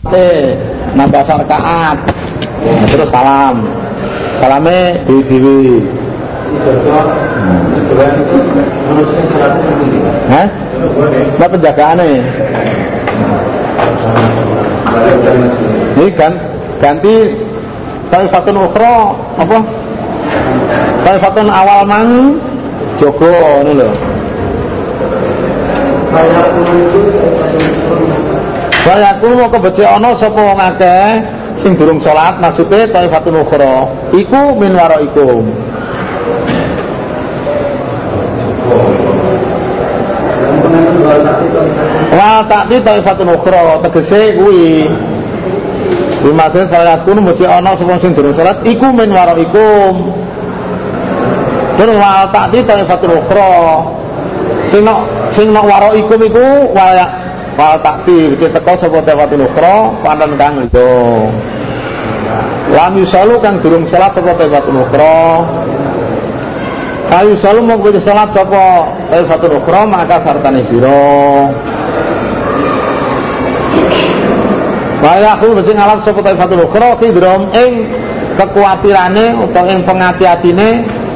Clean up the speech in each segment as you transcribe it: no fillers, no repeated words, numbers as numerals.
nambah rakaat. Terus salamnya dewi. Hah? Apa penjagaannya? Ini kan ganti taifatun ukhra apa? Taifatun awal mang jogo ngono lho. Saya aku mau kebeci ana sapa wong akeh sing durung salat maksude taifatun ukhra iku min waraikum. Wa ta'ti taifatun ukhra tegese kuwi dimaksud saya aku mesti ana sapa sing durung salat iku min waraikum. Terus wa ta'ti taifatun ukhra sing nok waraikum iku wal takdir cek teko sapa taifatun ukhra pandan kang lho. Lam yusalu kang durung salat sapa taifatun ukhra. Kayu salu mau kudu salat sapa taifatun ukhra maka sartane sira. Kaya aku mesti ngalap sapa taifatun ukhra ki ndrom ing kekuatirane utawa ing pengati-atine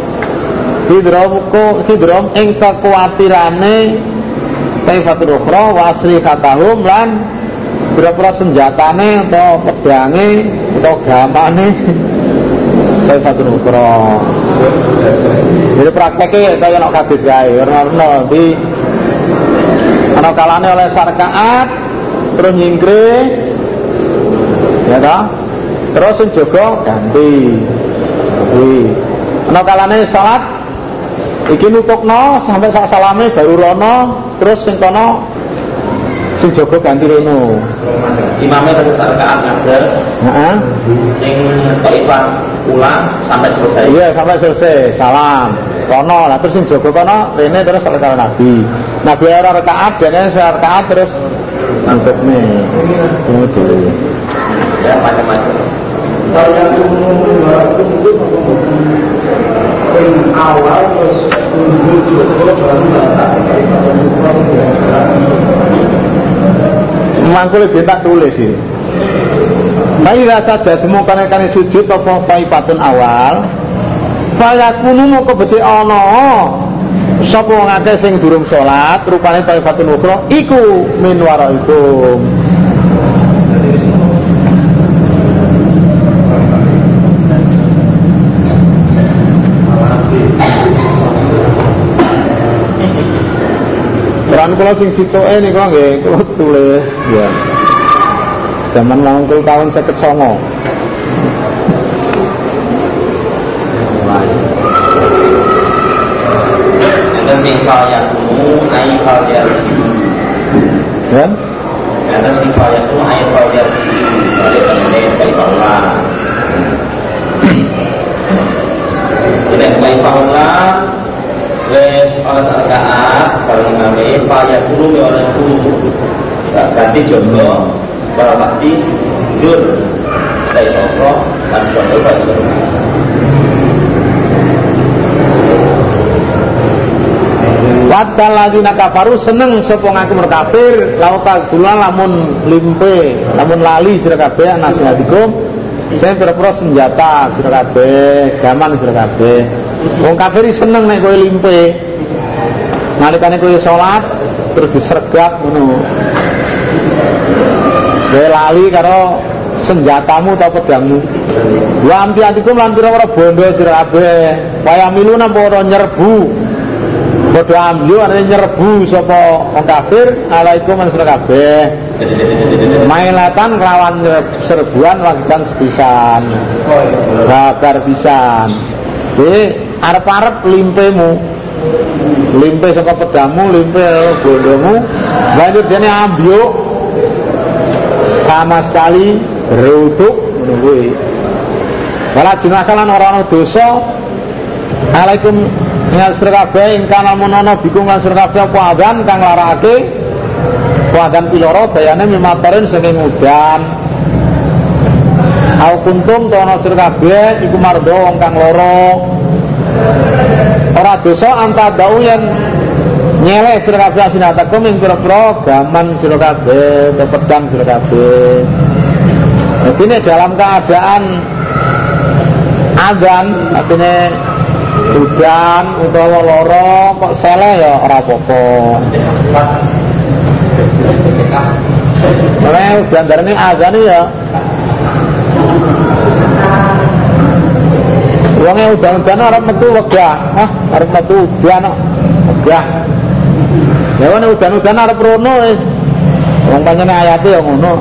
hidrom ing kekuatirane taifatul ukhra wa asri katahum lan pira-pira senjatane atau pedange atau gamane taifatul ukhra. Jadi prakteknya kaya ana hadis kae ora di ana kalane oleh sarkaat terus nyingkre ya ta terus sing jaga ganti ana kalane salat iki nutukno sampai sak salame baru rono terus sing kono sing jaga ganti reno imamnya terus rakaat ngajar sing taifah ulang sampai selesai iya sampai selesai salam kono lah terus sing jaga kono rene terus rakaat nabi ora rakaat dene rakaat terus nutupne ngono ya macam-macam saya sing awal terus mangkul tak tulis sih. Bayi rasa jadi mau kan sujud apa paipatun awal. Fayakunu mau kebeci ono. Sapa wong akeh sing durung salat rupane paipatun ukhra iku min waraikum. Peran kula sing sitoke niku nggih kula tulis ya. Zaman 80 tahun 59. Ada sifat yang ai fajarsi. Ya? Ada sifat yang ai fajarsi. Oleh teman-teman baik Allah. Ini baik Allah. Wes ana rakaat kalau ngame paya guru ya orang guru ganti jogo para bakti jur dari toko dan jogo baca Wadal ladina kafaru seneng sapa ngaku kafir lauta gula lamun limpe lamun lali sira kabeh nasihatikum saya pira-pira senjata sira kabeh gaman sira kabeh. Wong kafir seneng nek kowe limpe. Nalikane kowe salat terus disergap ngono. Kowe lali karo senjatamu ta pedangmu. Wa amtiatikum lan pira-pira bondo sira kabeh. Kaya milu napa ora nyerbu. Padha amyu arep nyerbu sapa wong kafir alaikum sira kabeh. Mailatan kelawan serbuan wagitan sepisan. Babar pisan. Arep-arep limpemu limpe saka pedamu limpe bondomu lanjut dene ambyuk sama sekali berutuk menunggu wala junakalan orang dosa alaikum ya sirkabe ingkang lamun ana bikum lan sirkabe apa adzan kang larakake adzan piloro bayane mimatarin saking udan au kuntum to ana sirkabe iku mardo wong kang loro ora dosa antadau yang nyelek sira kabeh sinatakum ing pira-pira gaman sira kabeh, pedang sira kabeh. Jadi ini dalam keadaan adzan, artinya hujan utawa lara kok seleh ya ora apa-apa. Mulai gandarane adzan ya wonge udan-udan arep metu wegah. Arep metu udan kok. Wegah. Ya wong udan-udan arep rono wis. Wong pancen ayate ya ngono.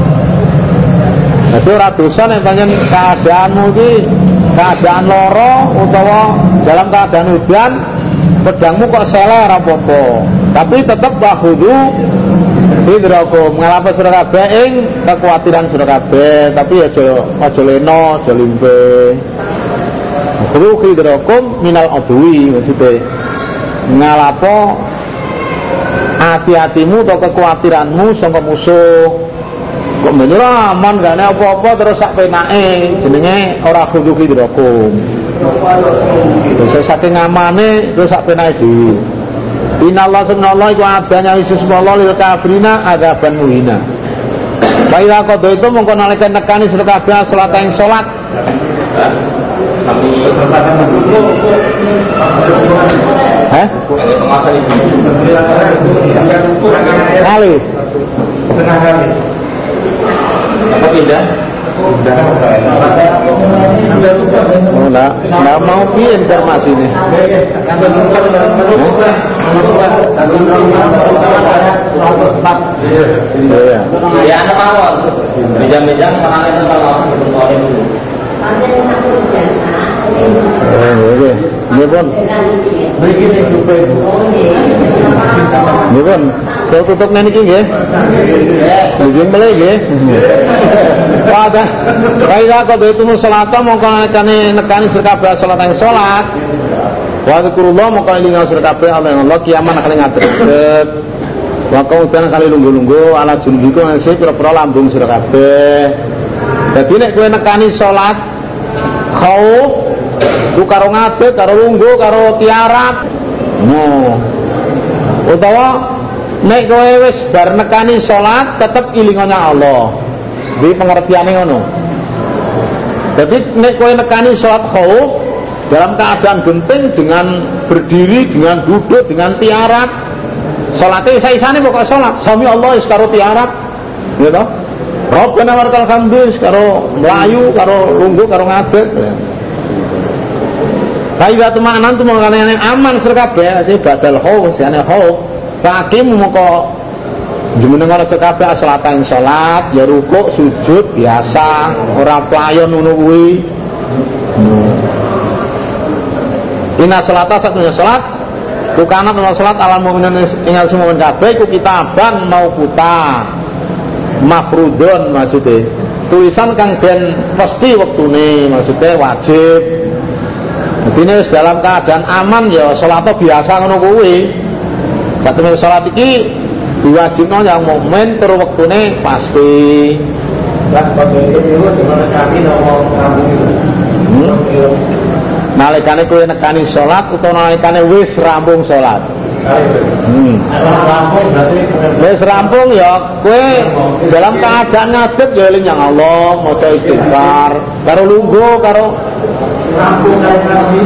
Dadi ora dosa nek pancen keadaanmu iki keadaan lara utawa dalam keadaan udan pedangmu kok seleh ora apa-apa. Tapi tetep bahudu hidrakum ngalapas sira kabeh ing kekhawatiran sira kabeh, tapi aja leno, aja limpe. Khuru hidrakum minal adwi, maksudnya ngalapo hati-hatimu atau kekhawatiranmu saka musuh. Kok menyerah aman gak ada apa-apa terus sak penake jenenge ora khuru hidrakum. Terus saking amane terus sak penake dhewe. Innallaha subhanallahi wa adanya Yesus wallahu lil kafirina adzaban muhina. Baiklah kok itu mongko nalika nekani sira kabeh salat ing salat. Kali. Setengah kali. Apa tidak? Nggak mau piye informasi ini. Ya anak awal. Meja-meja tangannya tentang oke, ini pun. Ini pun. Kalau tutup nanti nggih. Nggih mulai nggih. Wadah. Kaida kok itu salat mongko nekani sira kabeh salat ing salat. Wa zikrullah mongko elinga sira kabeh Allah kiaman kali ngadeg. Wa kausan kali lungguh-lungguh ala junbiko sing pira-pira lambung sira kabeh. Dadi nek kowe nekani salat khauf ku karo ngadeg, karo lungguh, karo tiarap. Utawa nek kowe wis bar nekani salat tetep ilingane Allah. Di pengertiane ngono. Jadi nek kowe nekani salat khauf dalam keadaan genting dengan berdiri, dengan duduk, dengan tiarap. Salate saisane pokok salat. Sami Allah wis karo tiarap. Ya toh? Rabbana warkal hamdu karo mlayu, karo lungguh, karo ngadeg. Kaya teman-teman tu mengkane aman sira kabeh, sing badal khauf, sing khauf. Hakim moko jumeneng ora sekabeh salatan salat ya rukuk sujud biasa ora playon ngono kuwi. Inna salata satunya salat kukana ana salat alam mukminin ing semua kabeh iku kitaban mauquta mafrudun maksudnya tulisan kang den mesti wektune maksudnya wajib. Dene dalam keadaan aman ya salat biasa ngono kuwi. Satune salat iki diwajibno yang mukmin tur wektune pasti. Lah kok iki dimana kami nomor nalikane kowe nekani salat utawa nalikane wis rampung salat. Wis rampung ya kowe dalam keadaan ngadeg ya eling yang Allah, maca istighfar, karo lungguh karo rampung kami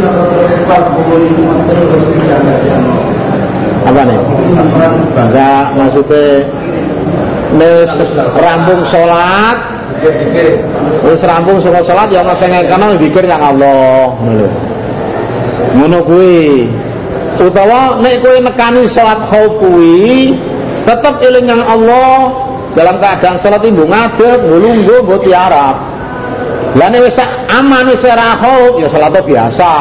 apa nih? Enggak, maksudnya wis rampung salat, wis rampung salat ya ngekene zikir yang Allah. Ngono kuwi. Utawa nek kowe nekani salat khauf kuwi tetep eling yang Allah dalam keadaan salat ibu ngadeg, nglungguh, mbok tiarap. Lah nek wis aman wis ora khauf ya salat biasa.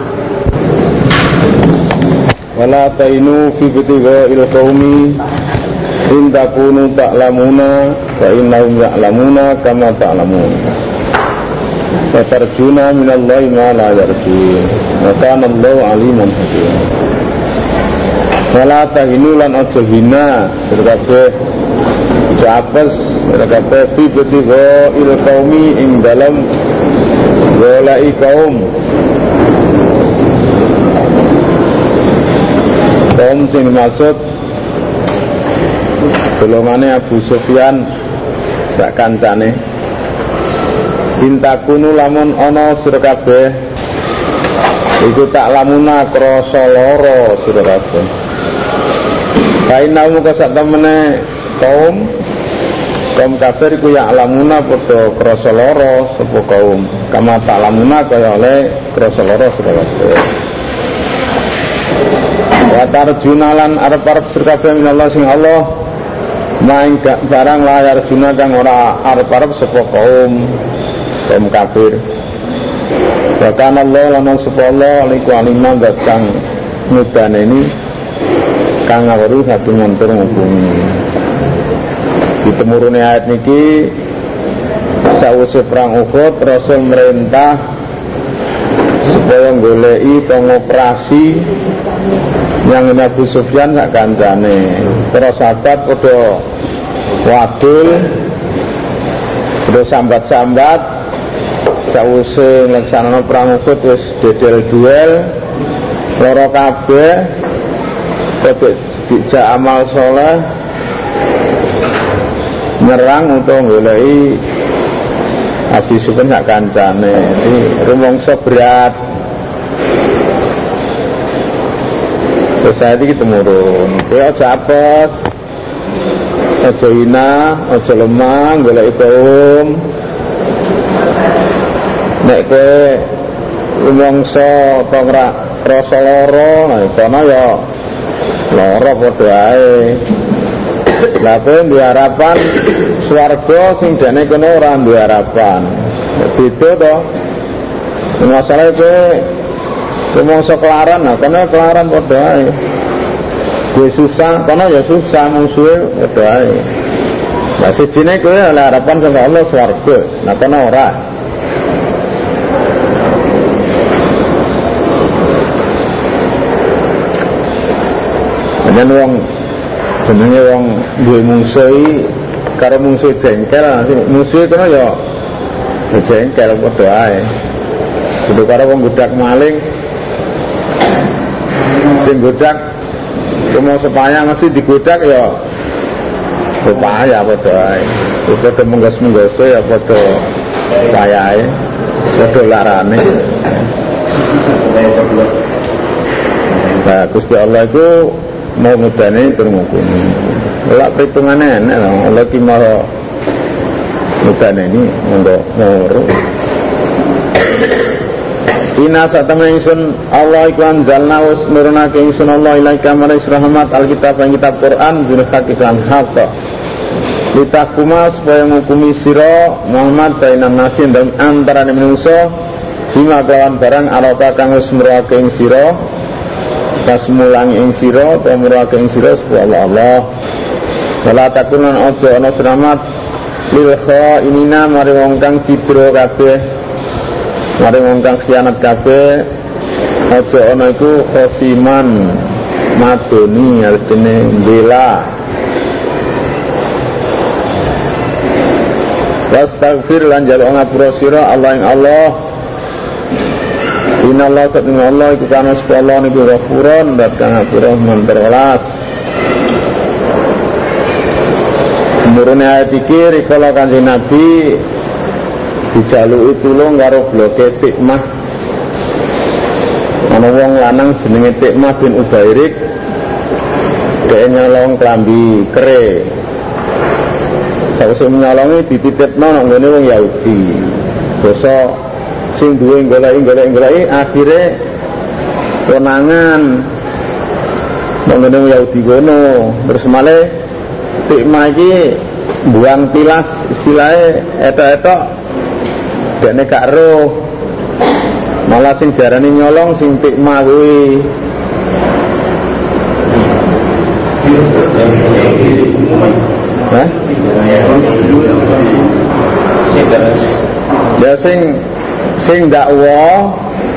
Wala tainu fi bitigha'il qaumi in takunu ta'lamuna wa innahum ya'lamuna kama ta'lamun. Wa tarjuna minallahi ma la yarjun. Wa kana Allahu aliman hakim. Wala tainu lan aja hina kabeh japes kabeh fi bitigha'il qaumi ing dalam goleki kaum kaum sing maksud golongane Abu Sufyan sak kancane Intakunu lamun ana sira kabeh iku tak lamuna krasa lara sira kabeh. Kainamu sak temene kaum kafir iku ya lamuna padha krasa lara sapa kaum kama tak lamuna kaya oleh krasa lara sira kabeh. Wa tarjunalan arep-arep sira kabeh minallah sing Allah maing barang layar juna kang ora arep-arep sapa kaum kafir. Bahkan Allah lan sapa Allah liku alimah datang mudan ini kang ngawuri satu ngantur ngubungi. Ditemurune ayat niki sawise perang Uhud Rasul merintah supaya goleki pengoperasi yang Abu Sufyan sak kancane. Para sahabat padha wadul padha sambat-sambat sawise nglaksanakno perang Uhud wis dedel duel loro kabeh padha dijak amal saleh nyerang untuk goleki Abu Sufyan sak kancane. Iki rumangsa berat. Terus saya iki temurun. Kowe aja apes. Aja hina, aja lemah goleki kaum. Nek kowe rumangsa apa ora krasa lara, nah kono ya lara padha ae. Lah kowe duwe harapan swarga sing dene kono ora duwe harapan. Beda to. Masalah kowe rumangsa kelaran, nah kono kelaran padha ae. Kowe susah, kono ya susah musuhe padha ae. Lah sijine kowe oleh harapan saka Allah swarga, nah kono ora. Yen wong jenenge wong duwe mungsuh karo mungsuh jengkel, mungsuh kono ya jengkel padha ae. Kudu karo wong godak maling sing godak cuma supaya mesti digodak ya upaya padha ae. Padha menggos-menggose ya padha upayae, padha larane. Nah, Gusti Allah itu mau ngedane termukuni. Lak perhitungane enak lho, Allah ki mau ngedane ini monggo ngoro. Ina satamene ingsun Allah iku anzalna was nurunake ingsun Allah ilaika maris rahmat alkitab ing kitab Quran bin hakikan haq. Litakuma supaya ngukumi sira Muhammad bainan nasi dan antarané manusa bima kelawan barang arapa kang wis murake ing sira pas mulangi ing sira ta murake ing sira supaya Allah. Wala takunan aja ana selamat lil khainina mari wong kang cidra kabeh, mari wong kang khianat kabeh. Aja ana iku khosiman madoni artine bela. Wastaghfir lan jaluk ngapura sira Allah ing Allah. Inallah satuna Allah iku kana sepala niku ghafuron dat kang ngapura manterwelas. Murune ayat iki rikala Kanjeng Nabi dijaluki tulung karo bloke Tikmah. Ana wong lanang jenenge Tikmah bin Ubairik, dhek nyolong klambi kere. Sawise nyolongi dititipno nang ngene wong Yahudi. Dosa sing duwe goleki akhire konangan nang ngene wong Yahudi kono. Terus malih Tikmah iki buang tilas istilahnya etok-etok dene gak roh. Malah sing diarani nyolong sing Tikmah kuwi. Hah? Ya sing dakwa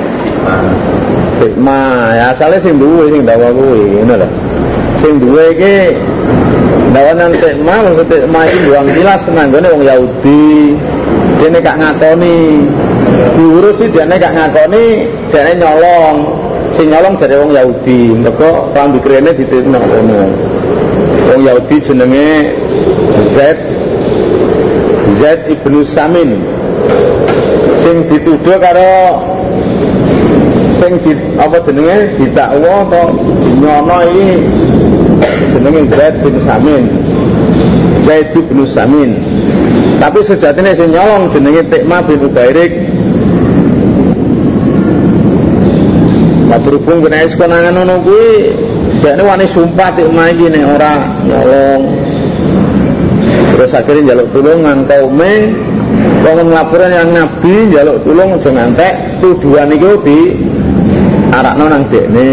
Tikmah ya asale sing duwe sing dakwa kuwi ngono lho. Sing duwe iki dawanan Tikmah maksud Tikmah iki buang tilas nanggone wong Yahudi. Dene gak ngakoni. Diurus sih dene gak ngakoni, dene nyolong. Sing nyolong jare wong Yahudi. Mergo pambikrene dititipno ngono. Wong Yahudi jenenge Zaid ibnu Samin sing dituduh karo sing apa jenenge didakwa atau nyono iki jenenge Zaid bin Samin. Tapi sejatinya sing nyolong jenenge Ti'mah bin Ubairik. Nah berhubung kena konangan ngono kuwi dekne wani sumpah Ti'mah iki nek ora nyolong. Terus akhirnya njaluk tulungan kaume wong nglaporan yang Nabi njaluk tulung aja ngantek tuduhan iku di arakno nang dekne.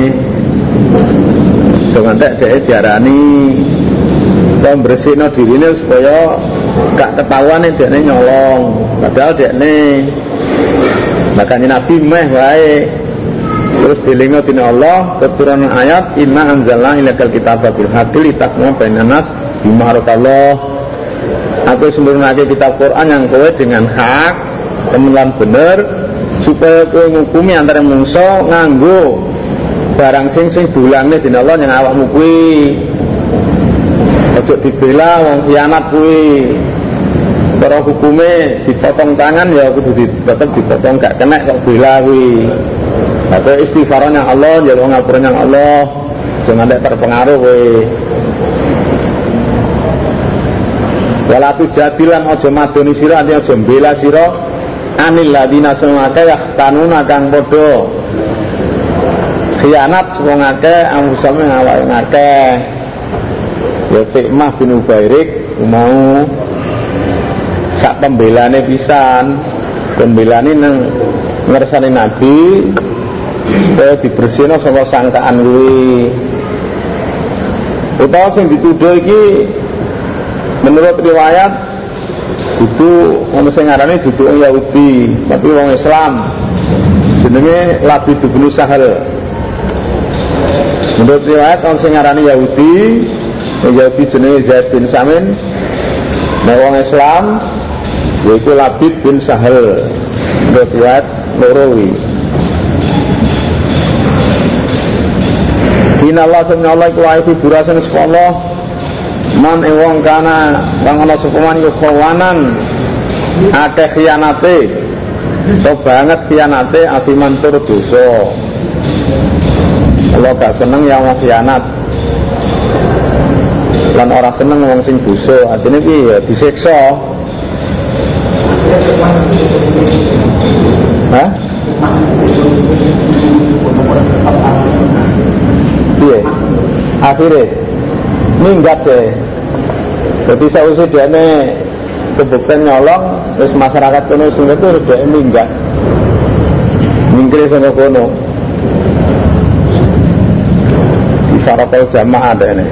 Aja ngantek dhek diarani bersihno dirine supaya gak ketahuan dekne nyolong. Padahal dekne makane Nabi meh wae. Terus dilingo dina Allah keturunan ayat inna anzalna ilaikal kitaba bil haqqi litakmu bainan nas bima arakallah. Aku sempurnake kitab Quran yang kowe dengan hak kemudian bener supaya kowe ngukumi antara mungso nganggo barang sing dulangne dina Allah yang awakmu kuwi. Ojo dibela wong khianat kuwi. Cara hukume dipotong tangan ya kudu tetep dipotong gak kena kok bela kuwi. Atau istighfarnya Allah, njaluk ngapurane Allah, jangan ada terpengaruh kowe. Wala tujadilan aja madoni sira, aja mbela sira anil ladina sangake yahtanuna kang padha khianat wong akeh ambusame awake akeh. Ya Ti'mah bin Ubairik mau sak pembelane pisan, pembelane nang ngersane Nabi supaya dibersihno saka sangkaan kuwi. Utawa sing dituduh iki menurut riwayat itu ono sing ngarani dudu wong Yahudi, tapi wong Islam. Jenenge Labid bin Sahal. Menurut riwayat ono sing ngarani Yahudi, Yahudi jenenge Zaid bin Samin. Nah wong Islam yaitu Labid bin Sahal. Menurut riwayat loro iki. Inallah subhanallah iku wae fiburasen sekolah man wong kana kang ana sepaman yo kawanan akeh khianate so banget khianate afiman tur dosa. Allah gak seneng yang wong khianat lan ora seneng wong sing dosa. Artine iki ya disiksa. Hah? Iya, akhirnya minggat deh. Jadi sausé dene kebukten nyolong, terus masyarakat kono sing itu udah minggat. Mingkir saka kono. Di farakal jamaah dene.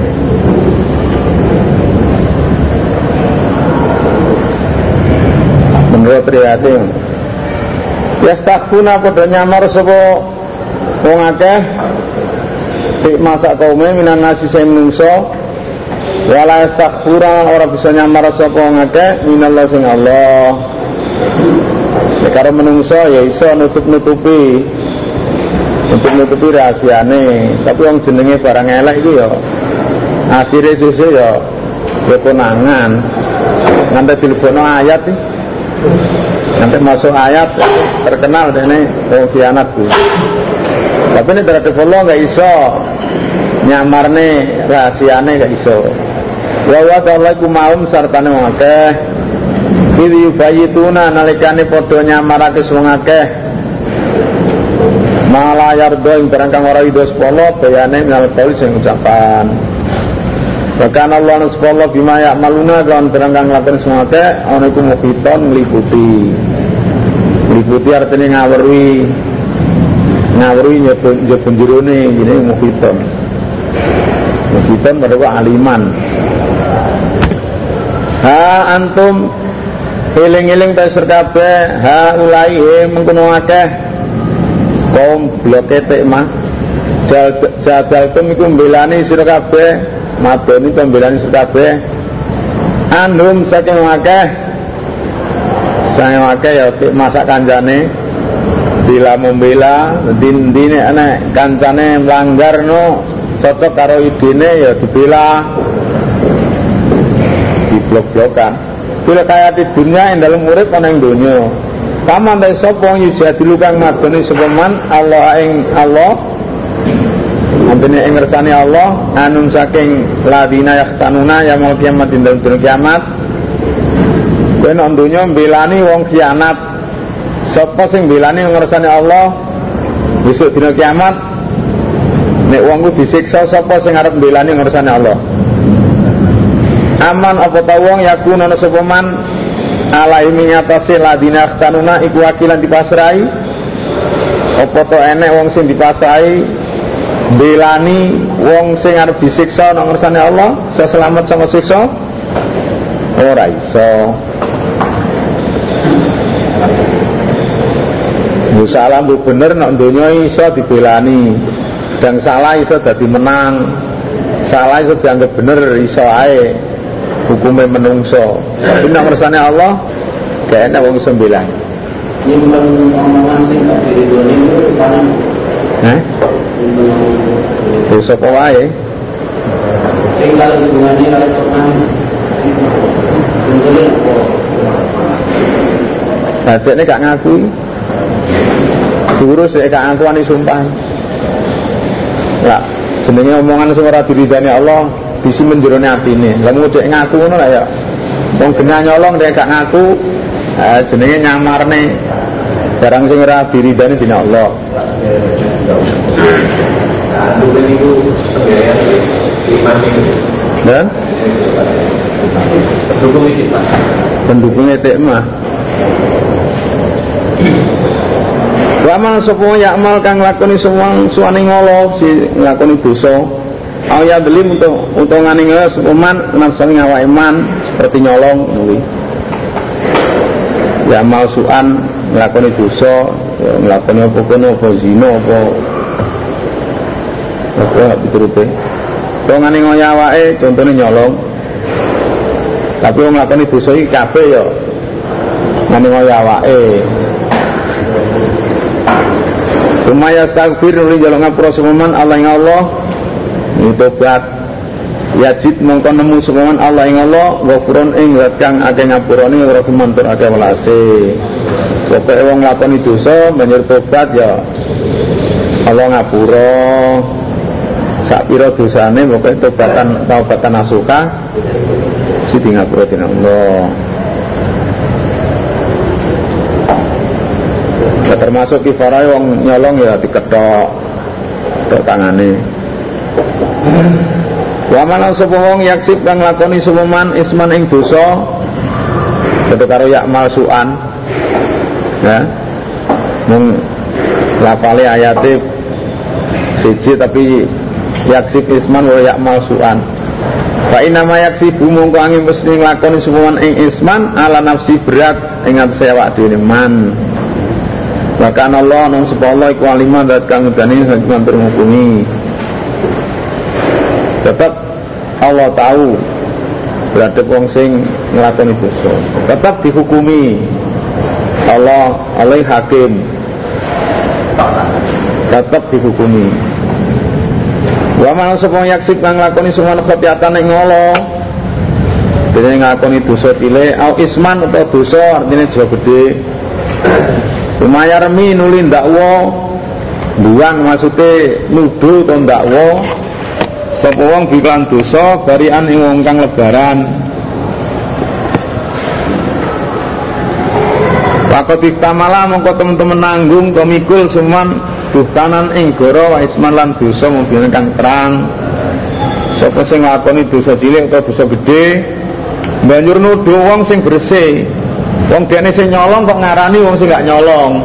Menurut riwayat yastaghfuna padha nyamar sapa wong akeh masak kaume minan nasi sing menungso wala yastaghfura ora bisa nyamar sapa wong akeh minallah sing Allah. Nek karo menungso ya iso nutup-nutupi rahasiane, tapi wong jenenge barang elek iki ya akhire sesuk ya konangan nganti dilebono ayat iki. Nanti masuk ayat terkenal dene wong khianat kuwi. Tapi ini terhadap Allah gak iso nyamarne rahasiane gak iso. Wa wa ta'ala iku maum sartane wong akeh iki yubayituna nalikane padha nyamarake wong akeh malah yardo ing barang kang ora ida sepolo bayane minal qauli sing ucapan. Bahkan Allah subhanahu bima ya'maluna kan barang kang lakukan wong akeh ana iku muhiton ngliputi. Ngliputi artine ngawuri nyebun jerone ini muhiton mereka aliman. Ha antum eling-eling ta sir kabeh ha ulai mengkono akeh kaum bloke Ti'mah jadaltum iku mbelani sira kabeh madoni pembelani sira kabeh andum saking akeh saya akeh ya masak kancane bila membela dine anak kancane melanggar no cocok karo idene ya dibela diblok-blokan fil hayati dunya ing dalem urip ana ing donya. Kaman ta sapa yujadilu kang madoni sapa man Allah ing Allah. Antene ing ngersane Allah anun saking ladina yahtanuna yaumul kiamat ing dalem dina kiamat. Ben donya mbelani wong khianat. Sapa sing mbelani ngersane Allah besok dina kiamat nek wong ku disiksa sapa sing arep mbelani ngersane Allah. Aman apa ta wong yakun ana sapa man alaihi ngatasi ladina yahtanuna iku wakilan dipasrai. Apa to enek wong sing dipasrai belani wong sing arep disiksa nang ngersane Allah selamat saka siksa ora iso. Bu salah bu bener nek donya iso dibelani dan salah iso dadi menang, salah iso dianggap bener iso ae hukume menungso. Tapi nang ngersane Allah gak enak wong iso belani. Nyimpen omongan sing gak diridoni itu paling besok wae tinggal hubungannya karo teman bajekne gak ngakui diurus gak ngakuani sumpah lah jenenge omongan sing ora diridani Allah disimpen jerone atine lha mung dek ngaku ngono lah ya wong genah nyolong dek gak ngaku jenenge nyamarne barang sing ora diridani dina Allah. Dan pendukungnya tekmah wamal sapa yakmal kang lakoni suwane ngolo si nglakoni dosa ya delim untuk ngani ngelo sapa man nafsane ngawake man seperti nyolong kuwi yakmal suan nglakoni dosa nglakoni apa kono apa zina apa dituruti kok ngene ngoyo awake contone nyolong tapi wong nglakoni dosa iki kabeh ya ngene ngoyo awake Rumaya astagfir nuli jaluk ngapura semuman Allah ing Allah tobat yajid mongko nemu semuman Allah ing Allah ghafurun ing zat kang akeh ngapurane ora gumantur akeh welase pokoke wong nglakoni dosa banjur tobat ya Allah ngapura sak pira dosane pokoke taubatan nasuha sing ngapura dening Allah. Ya, termasuk kifarai wong nyolong ya diketok tangane. Wa man sapa wong yaksib kang lakoni suman isman ing dosa padha karo yakmal suan. Ya. Mung lafale ayate siji tapi yaksib isman wa yakmal suan. Fa inna ma yaksibu mongko angin mesti nglakoni suman ing isman ala nafsi berat ing atase awak dhewe man. Bahkan Allah nang sapa Allah iku alimah dat kang ngedani hakiman terhukumi. Tetap Allah tahu berarti wong sing nglakoni dosa tetap dihukumi. Allah hakim tetap dihukumi. Wa man sapa yaksib kang nglakoni suman khotiatan ing Allah dene nglakoni dosa cilik au isman utawa dosa artine dosa gedhe. Rumaya remi nuli ndakwa buang maksude nuduh to ndakwa sapa wong biklan dosa barian ing wong kang lebaran. Pakoti tamala mongko temen-temen nanggung to mikul seman buhtanan ing goro wa isman lan dosa mobil kang terang. Sapa sing nglakoni dosa cilik utawa dosa gedhe banjur nuduh wong sing bersih. Wong dene sing nyolong kok ngarani wong sing gak nyolong.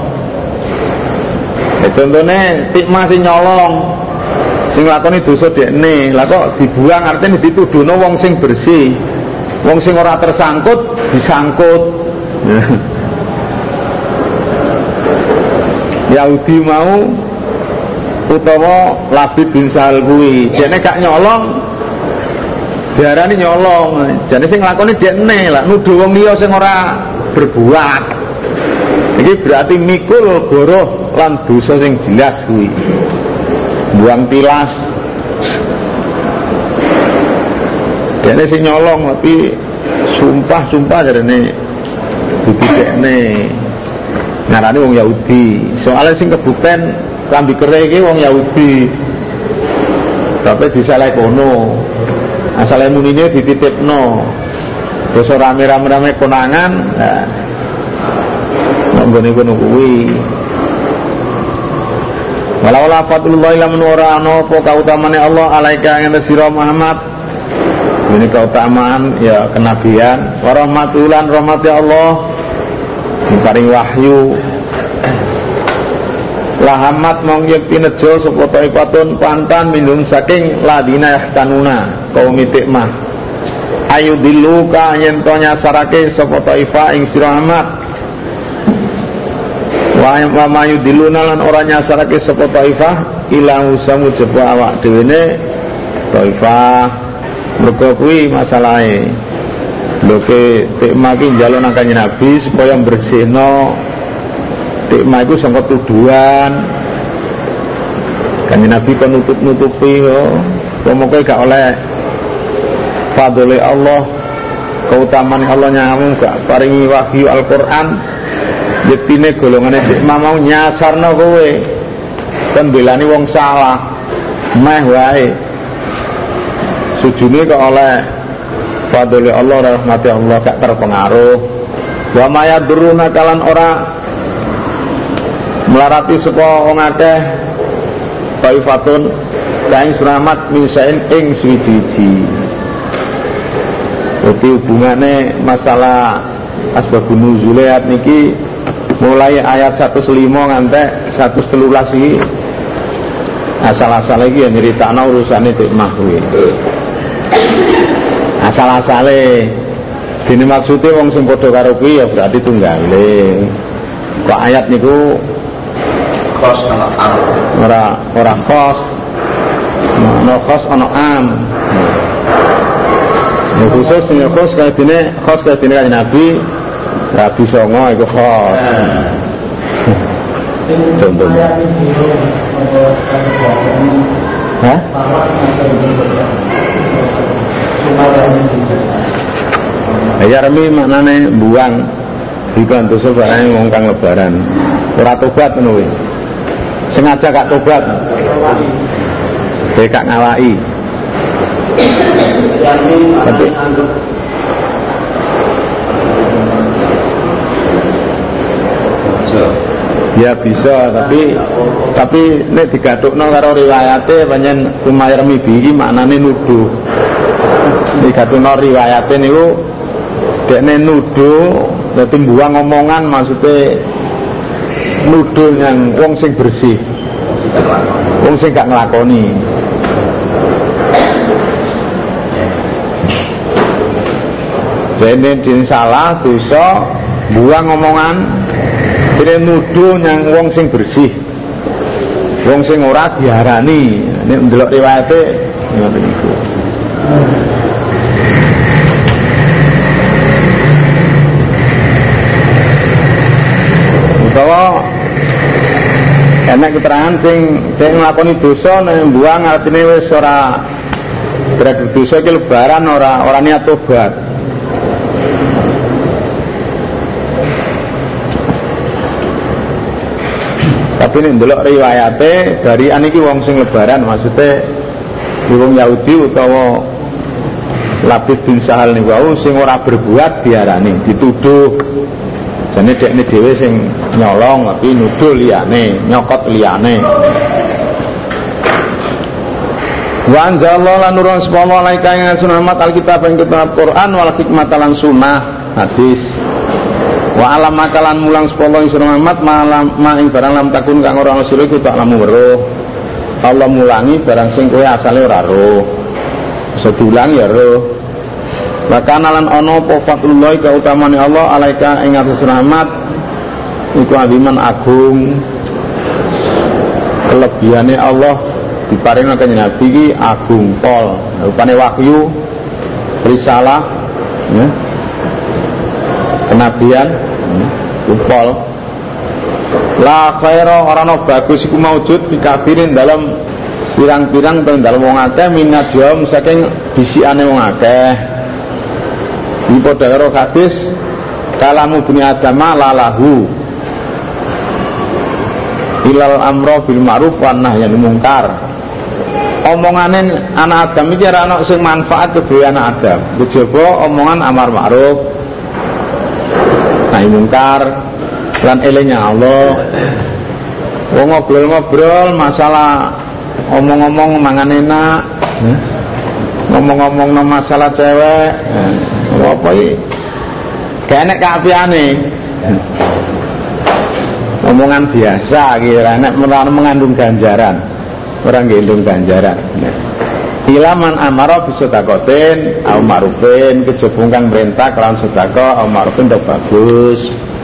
Contone tikma sing nyolong sing lakoni dosa dekne, lah kok dibuang artine dituduhno wong sing bersih. Wong sing ora tersangkut disangkut. Yahudi mau utawa Labid bin Sahal kuwi, dene gak nyolong diarani nyolong. Jane sing nglakoni dekne, lah nuduh wong liya sing ora berbuat. Ini berarti mikul goroh lan dosa sing jelas kuwi. Buang tilas. Dene sing nyolong tapi Sumpah jarene didikne ngarani wong Yahudi. Soale sing kebukten klambi kere iki wong Yahudi. Tapi disaleh kono. Asale munine dititipno. Terus rame-rame konangan. Nah. Nggone kono kuwi. Wala fatullah ila min wara'ana apa kautamane Allah alaika ing sira Muhammad. Ini keutamaan ya kenabian, warahmatulan rahmati Allah, paring wahyu. Lahamat mong yakti nejo sapa ta'ifatun pantan minum saking ladina yahtanuna kaum itikmah. Ayu diluka yen to nyasarake sapa ta'ifa ing sira Muhammad. Wa mayu diluna lan ora nyasarake sapa ta'ifa ila usamu jeba awak dhewe ne ta'ifa. Mergo kuwi masalahe. Lho ke tikma ki njaluk nang Kanjeng Nabi supaya bersihno tikma iku sangka tuduhan. Kanjeng Nabi kon nutup-nutupi yo. Pomoke gak oleh fadhole Allah, keutamaan Allah nyamu gak paringi wahyu Al-Qur'an. Yektine golongane tikma mau nyasarno kowe. Kon belani wong salah. Meh wae. Sujune kok oleh fadhole Allah rahmati Allah gak terpengaruh. Wa maya duruna kalan ora melarati saka wong akeh taifatun kaing selamat misain ing suwi-wiji. Dadi hubungane masalah asbabun nuzul ayat niki mulai ayat 105 nganti 113 iki asal-asal iki ya nyeritakno urusane tikmah kuwi. Asal-asale dene maksude wong sing padha karo kuwi ya berarti tunggale. Kok ayat niku khos ana am. Ora khos. Ono khos ono am. Ya khusus sing khos kaya dene Nabi Rabi Songo iku khos. Contohnya. Hah? Yarmi maknane buang dibantu sebarang wong kang lebaran ora tobat ngono kuwi. Sengaja gak tobat. Gak ngawaki. Tapi ya bisa, tapi nek digathukno karo riwayate pancen kumayarmi bihi maknane nuduh. Digathukno riwayate niku dekne nuduh, dadi mbuang omongan maksude nuduh yang wong sing bersih. Wong sing gak nglakoni. Dene din salah dosa buang omongan dene nuduh yang wong sing bersih. Wong sing ora diarani. Nek ndelok riwayate ngoten niku. Utawa enak keterangan sing nglakoni dosa nek mbuang artine wis ora berarti dosa iki lebaran ora niat tobat. Tapi nek ndelok riwayate dari aniki wong sing lebaran maksudnya wong Yahudi utawa Labid bin Sahal niku wau sing ora berbuat diarani dituduh. Jane dekne dhewe sing nyolong tapi nuduh liyane, nyokot liyane. Wa anzalallahu lan nurun sepuluh alaika ing sunnah alkitab ing kitab Quran wal hikmah lan sunnah hadis. Wa alam makalan mulang sepuluh ing sunnah ma ing barang lam takun kang ora ana sira iku tak lamu weruh. Allah mulangi barang sing kowe asale ora roh. Sedulang ya roh. Maka nalan ono apa fadlullah kautamane Allah alaika ing atas rahmat iku aziman agung. Kelebihane Allah diparing kanjeng Nabi iki agung pol. Rupane wahyu risalah ya. Kenabian pol. La khaira ora ana bagus iku maujud dikafirin dalam pirang-pirang teng dalem wong akeh minat jom saking bisikane wong akeh. Iki padha karo hadis kalamu bani adama lalahu ilal amro bil ma'ruf wan nahyi anil munkar. Omongane anak Adam iki ora ana sing manfaat kedue anak Adam. Kejaba omongan amar ma'ruf nahi munkar lan elingnya Allah. Wong ngobrol-ngobrol masalah omong-omong mangan enak, ngomong-ngomong masalah cewek, apa iki? Gak enak keapiane. Omongan biasa kira nek mengandung ganjaran. Orang gendong ganjaran. Ilaman amara bisedaqatin au ma'rufin, kejaba kang perintah kelawan sedekah au ma'rufin ndok bagus.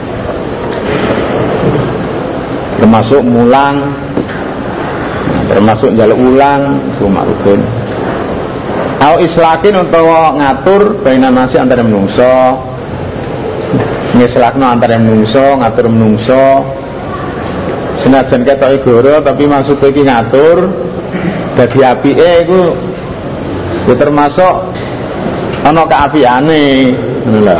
Termasuk mulang, termasuk njaluk ulang itu ma'rufin. Au islahin utawa ngatur baina nasi antara menungso. Ngislahno antara menungso, ngatur menungso. Senajan ketoke goro tapi maksudnya iki ngatur dadi apike iku ya termasuk ana keapiane ngono lho.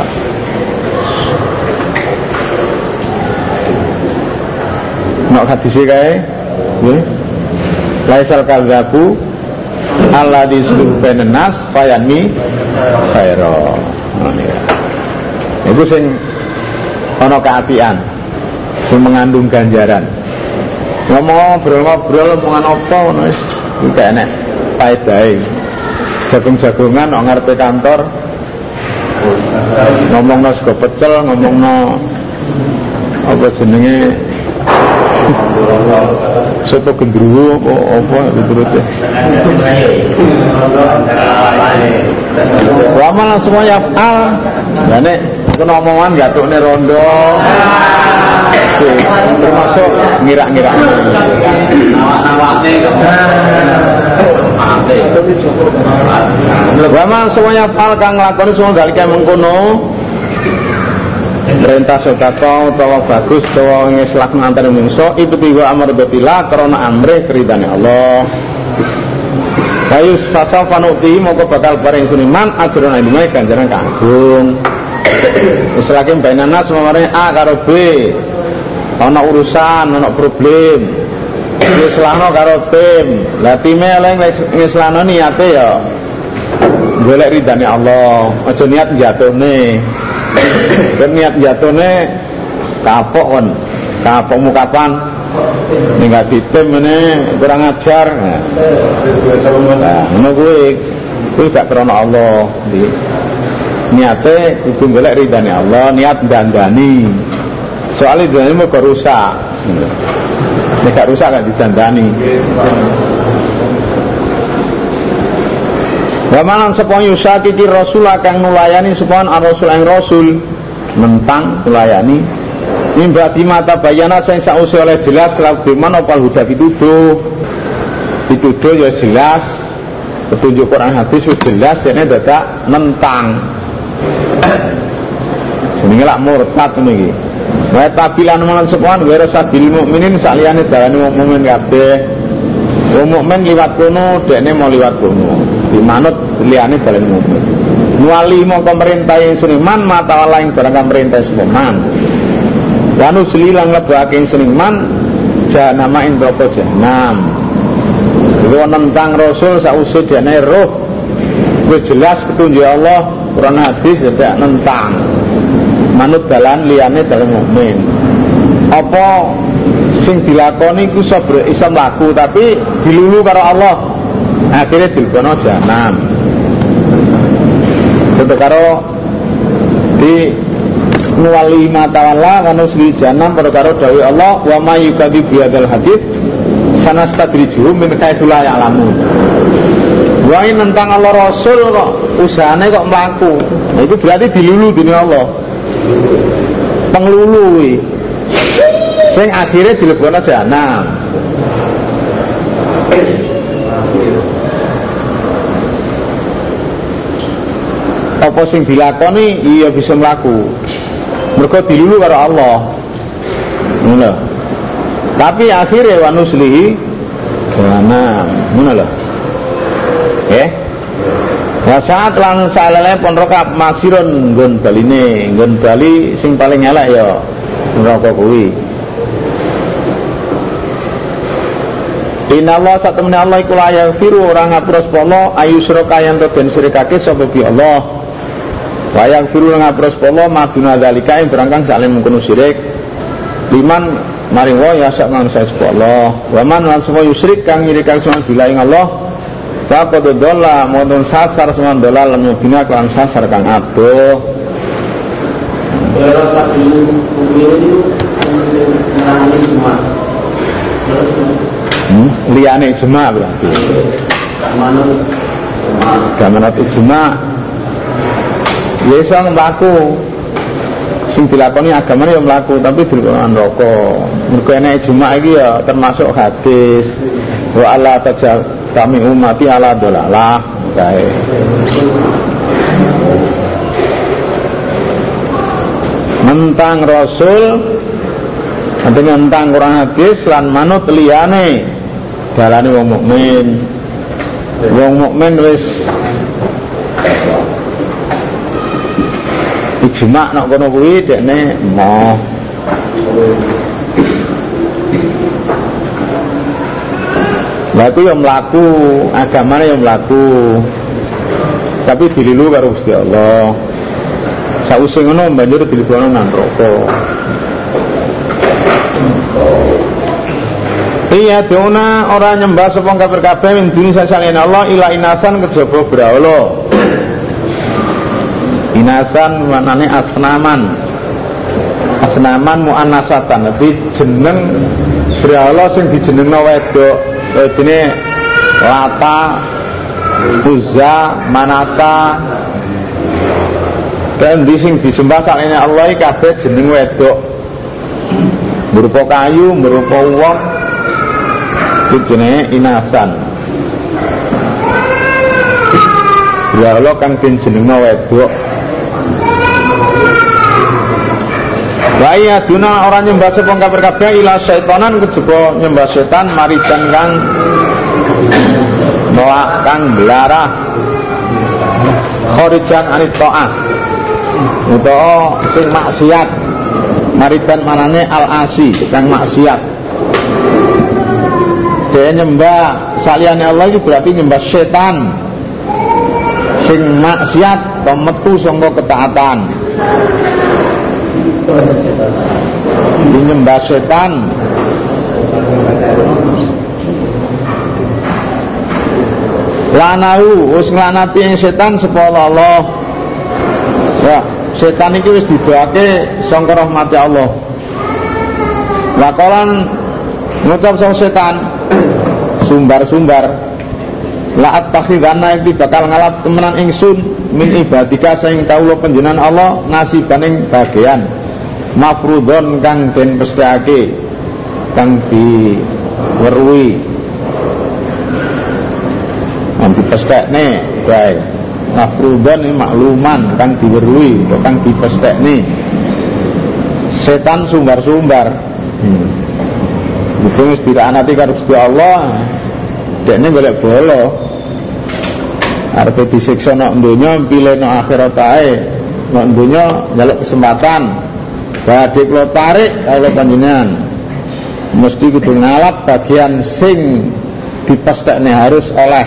Nek hadise kae nggih laisal kadzabu alladzi yusluhu bainan nas fayanmi khaira. Iku sing ana keapian sing mengandung ganjaran. Ngobrol-ngobrol omongan apa ngono wis gak enak paedahe. Jagung-jagongan kok ngarepe kantor ngomongno sego pecel, ngomongno apa jenenge soto gendruwo apa diturute. Wa malah semuanya al. Lah nek kena omongan gatukne rondo. Termasuk ngira-ngira Wama semuanya hal kang nglakoni semua dalika mengkono perintah sedekah utawa bagus utawa ngislah antara manusa ibtiwa amr betila karena amrih keridane Allah. Kayus fasal panuti moko bakal paring suniman ajrun ilmu ganjaran kanggung. Islake bainana semamane A karo B. Ana urusan, ana problem. Ngislahno karo tim. Lah time oleh ngislahno niate ya golek ridane Allah. Aja niat jatuhne. Ben niat jatuhne kapok kon. Kapokmu kapan? Ning gak ditim meneh kurang ajar. Nah, ngono kuwi gak krana Allah. Niate kudu golek ridane Allah, niat dandani. Soalnya dandani mau rusak. Nek gak rusak gak didandani. Wa manan sapa yusakiti rasul kang nulayani sapa ar-rasul ing rasul mentang nulayani mimba dimata bayana sing sause oleh jelas lawan apa hujah dituduh ya jelas petunjuk Quran hadis wis jelas dene dadak nentang jenenge lak murtad ngene iki. Wa tabilan malan sepon wira sabil mukminin saliyane dalane mukmin kabeh. Wong mukmin liwat kono dekne mau liwat kono. Dimanut liyane dalane mukmin. Nuwali mongko perintah seniman mata lain barang perintah sepeman. Wa nusli lan lebake seniman jahanam ing neraka jahanam. Iku nentang rasul sause dene roh. Wis jelas petunjuk Allah Quran hadis tidak nentang. Manut dalan liyane dalan mukmin. Apa sing dilakoni ku iso mlaku tapi dilulu karo Allah. Akhire dilebono jahanam. Tentu karo di nuwali matawalla wa nusli jahanam karo dawuh Allah wa may yukadzib bihadzal hadits sanastadrijuhum min haitsu la ya'lamun. Wae nentang Allah Rasul kok usahane kok mlaku. Nah, itu berarti dilulu dening Allah. Penglulu kuwi. Sing akhire dilebono jahanam. Apa sing dilakoni iya bisa mlaku. Mergo dilulu karo Allah. Ngono. Tapi akhire wa nuslihi jahanam. Ngono lho. Wa saat lan salele pon rokab masirun nggon baline, nggon bali sing paling elek ya neraka kuwi. Inna Allah satamna Allah iku la yaghfiru ora ngapura sapa Allah ayusyraka yen to den sirikake sapa bi Allah. Wa yaghfiru ora ngapura sapa Allah maduna zalika ing berangkang saling mengkono syirik. Liman maring wa ya sak nang sapa Allah. Wa man lan sapa yusyrik kang nyirikake sama bila ing Allah. Faqad dhalla modon sasar semua dolal mubina kan sasar kang adoh. Era satu itu namanya semua. Liyane ijma berarti. Gamanat ijma. Ya iso mlaku. Sing dilakoni agamane ya mlaku tapi dilakoni neraka. Mergo enek ijma iki ya termasuk hadis. Wa alla tajal kami umati ala dolalah kae. Mentang Rasul dengan mentang Quran hadis lan manut liyane dalane wong mukmin. Wong mukmin wis ijma nek kono kuwi dekne moh. Laku yang melaku, agamanya yang melaku, tapi dililu karo Gusti Allah. Sawise ngono banjur dilebokno nang neraka. Iya dona ora nyembah sapa kafir kabeh min duni sasane Allah ila inasan kejaba brahala. Inasan maknane asnaman. Asnaman muannasatan, tapi jeneng brahala sing dijenengno wedok. Ini Lata, Uzza, Manata, dan sing disembah sakjane Allah kabeh jeneng wedok. Berupa kayu, berupa wong, itu jenenge inasan. Ya Allah kang jenengna wedok. Waya duna orang nyembah sapa kafir kabeh ila syaitanan kejaba nyembah setan maridan kang moak kang belarah kharijan anit taat utawa sing maksiat. Maridan manane al-asi kang maksiat. Dia nyembah saliyane Allah itu berarti nyembah setan sing maksiat metu saka ketaatan. Nyembah setan lanahu wis nglanati ing setan sapa Allah. Ya, setan iki wis didoake sangka rahmati Allah. Lakolan ngucap sang setan sumbar-sumbar la'at takhidana iki bakal ngalap temenan ingsun min ibadika sing kawula panjenengan Allah nasibaning bagian mafrudon kang den pesthekake kang diweruhi nanti pesthekne bae mafrudon ini makluman kang diweruhi atau kang dipesthekne. Setan sumbar-sumbar itu wis diranati karo Gusti Allah dekne golek bolo arep disiksa nek donya pilih nek akhirat ae nek donya njaluk kesempatan badhe kula tarik kula panjenengan mesti kudu ngalap bagian sing dipesthekne harus oleh.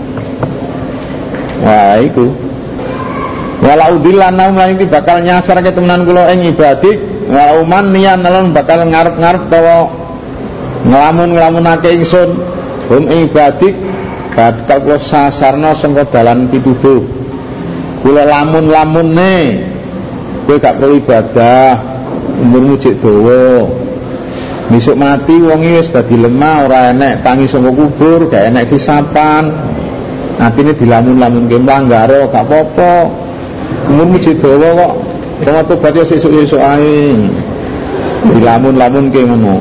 Wah iku walau dilana lan iki bakal nyasarke temenan kula ing ibadik walau man niyan lan bakal ngarep-ngarep tawa nglamun-nglamunake ingsun hum ing ibadik bakal kula sasarna sangka dalan pituduh. Kula lamun-lamunne kowe gak perlu ibadah, umurmu cek dawa. Besok mati wong wis dadi lemah, ora enek tangi saka kubur, gak enek hisapan. Atine dilamun-lamunke mlanggaro gak apa-apa. Umurmu cek dawa kok. Ora tobat yo sesuk-sesuk ae. Dilamun-lamunke ngono.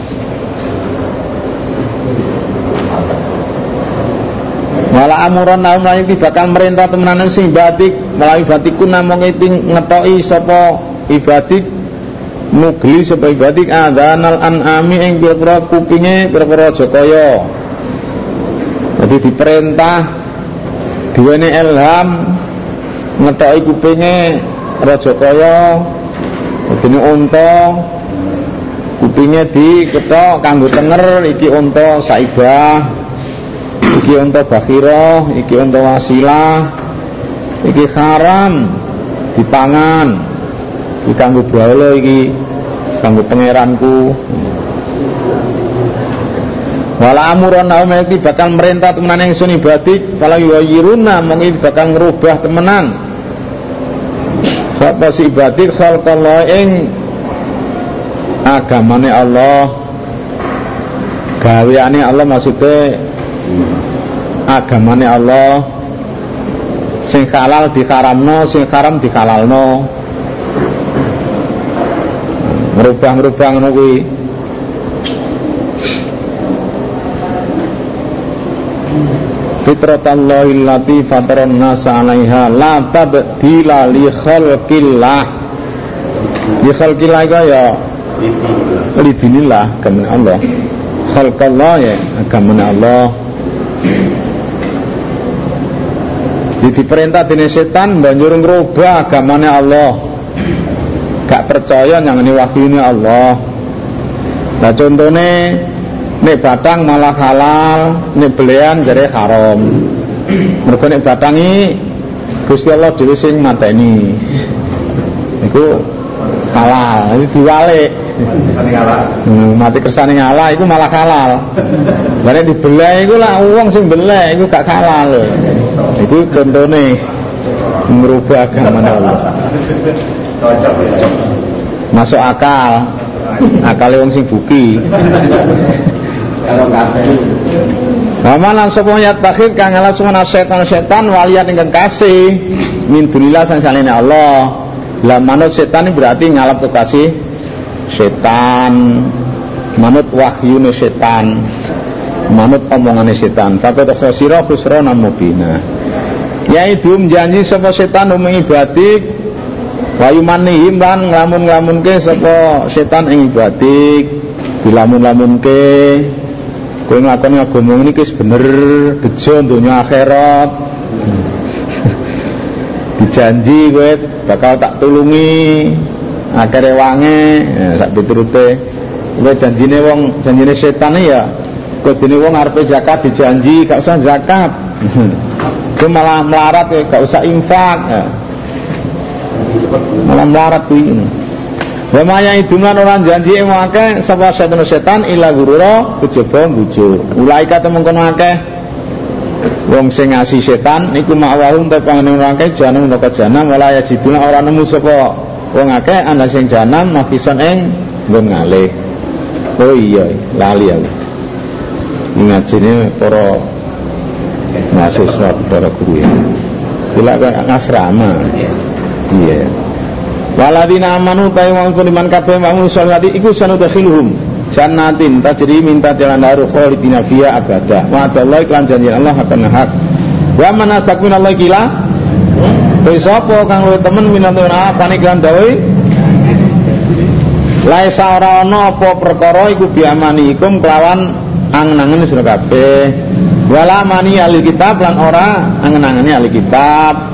Wala amuran naum lan iki bakal merintah temenan sing batik melalui batiku namung ngetoki sapa ibadik mugli sapa ibadik adzanal an'ami ing pira-pira kupinge pira-pira Jakaya. Jadi diperintah duwene ilham ngethoki kupinge raja kaya dene unta kupinge dikethok kanggo tenger iki unta saibah iki unta bakhirah iki unta wasilah iki haram dipangan iki kanggo bala iki kanggo pangeranku. Wala amuron naumeti bakal merintah temenan ingsun ibadik kalau yuwiruna mongki bakal ngerubah temenan sapa si ibadik khalqallah ing agamane Allah gaweane Allah maksudnya agamane Allah sing halal diharamno sing haram dihalalno ngerubah ngono kuwi. Fitratallahi allati fataran nasa 'alaiha la tabdila li khalqillah. Li khalqillah ya li dinillah agamane Allah. Khalqallah ya agamane Allah. Diperintah dening setan banjur ngrubah agamane Allah. Gak percaya nyangani wahyune Allah. Nah contone nek batang malah halal, nek belian jare haram. Mergo nek batangi Gusti Allah dhewe sing mateni. Iku halal, iki diwalik. Mati kersane ngalah iku malah halal. Lah nek dibeleh iku lah wong sing beleh iku gak halal. Iku contone merubah agama Allah. Masuk akal. Akale wong sing buki. Waman lan sapa nyat takhir kang ala sumana setan walian ingkang kasih min dunillah sang salene Allah. Lah manut setan ini berarti ngalap kasih setan, manut wahyune setan, manut omongane setan. Faqad khasira khusranan mubina. Yaidum janji sapa setan uming ibadik wa yumanihim lan nglamun-nglamunke sapa setan ing ibadik dilamun-lamunke kowe nglakoni agama iki wis bener bejo donya akhirat dijanji kowe bakal tak tulungi akhire wange sak piturute kowe janjine setan ya kodene wong arepe zakat dijanji gak usah zakat kowe malah melarat gak usah infak malah melarat kuwi. Wa maya idunan orang janji yang akeh sapa setan ila gurura kejaba bujuk. Ulaika temengkon akeh wong sing ngasi setan niku makwahum te panjenengan akeh janang neraka jahanam wala yajiduna ora nemu sapa wong akeh ana sing jahanam makison ing nggon ngalih. Oh iya lali aku. Ngajine para mahasiswa para guru ya. Bila asrama. Iya. Waladina amanu ta'iwang kuliman kabeh ma'amul sholati iku sanudakhiluhum jannatin tajri min tahtiha al-anharu khalidina fiha abada wa'adallahi iklan janji Allah akan hak wa man astaqmin Allah kila sapa kang luwih temen minantuna paniklan dawuh laisa ora ana apa perkara iku biamanikum kelawan angen-angen sira kabeh wala mani ahli kitab lan ora angen-angene ahli kitab.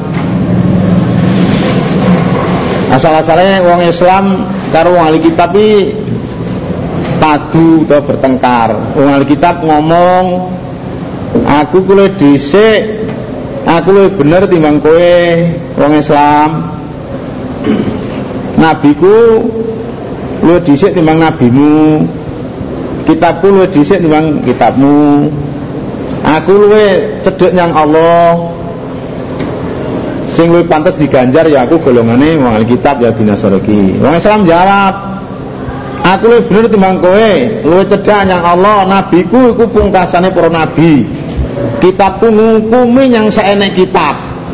Asal-asalnya wong Islam karo wong ahli kitab iki padu atau bertengkar. Wong ahli kitab ngomong aku kuwi dhisik, aku luwih bener timbang kowe wong Islam. Nabiku luwih dhisik timbang nabimu. Kitabku luwih dhisik timbang kitabmu. Aku luwih cedhek nyang Allah. Sing luwih pantes diganjar ya aku golongane wong ahli kitab ya binasariki. Wong Islam jawab, aku luwih bener timbang kowe, luwih cedhak nyang Allah, nabiku iku pungkasane para nabi. Kitabku ngukumi yang saenek kitab.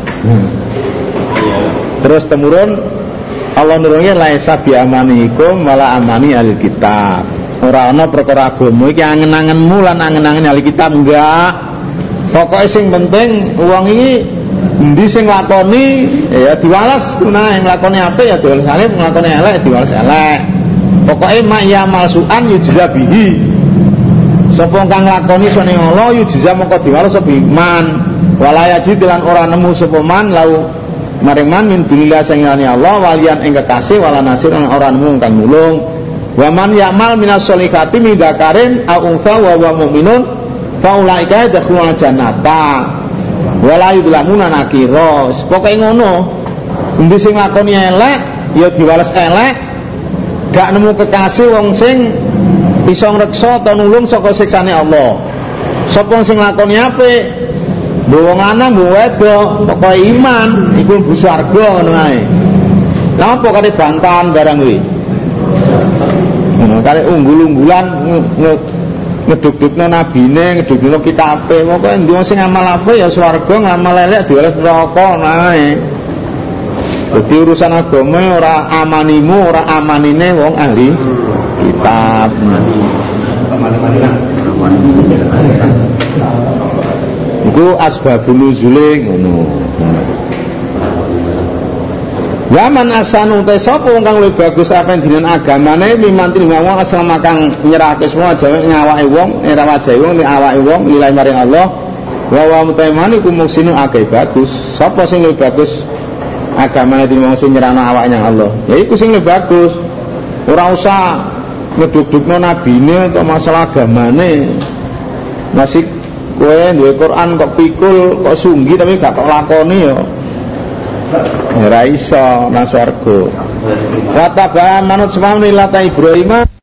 Terus temurun Allah nurunke laisa bi amanikum wala amani ahli kitab. Ora ana perkara agama iki angen-angenmu lan angen-angen ahli kitab enggak. Pokoke sing penting wong iki endi sing nglakoni ya diwales nah nglakoni apik ya diwales alif nglakoni elek diwales elek pokoke mak ya malsuan yujza bihi sapa kang nglakoni sone Allah yujza mongko diwales sapa iman Wala yajid lan ora nemu sapa man lau maring man min dunillah sing liyane Allah walian ing kekasih wala nasir lan ora nemu kang nulung. Wa man ya'mal minas sholihati min dzakarin aw untha wa huwa mu'minun fa ulaika yadkhuluna jannata wala yudlamuna nakira. Pokoke ngono. Endi sing lakoni elek ya diwales elek, gak nemu kekasih wong sing bisa ngreksa atau nulung saka siksane Allah. Sapa sing lakoni apik, mbok wong lanang mbok wedok, pokoke iman iku mlebu swarga ngono ae. Lah apa kate bantahan barang kuwi? Kare unggul-unggulan ngeduk-dukno nabine, ngeduk-dukno kitabe, pokoke endi wong sing amal apik ya swarga, ngamal elek diwales neraka ae. Jadi urusan agama ora amanimu, ora amanine wong ahli kitab. Iku asbabun nuzule ngono. Waman asanu te sapa wong kang luwih bagus apa dinen agamane mimantin wong asal makang nyerahke semua jawe ngawake wong, ora wajahe wong ning awake wong lillahi maring Allah. Wa wa mutaimani ku muksinu akeh bagus. Sapa sing luwih bagus agamane dene wong sing nyerahno awake nang Allah. Ya iku sing luwih bagus. Ora usah ngeduk-dukno nabine atau masalah agamane. Masih kowe duwe Quran kok pikul, kok sunggi tapi gak kok lakoni ya. Ora iso nang swarga. Wa taba'a manut semamni lata Ibrahim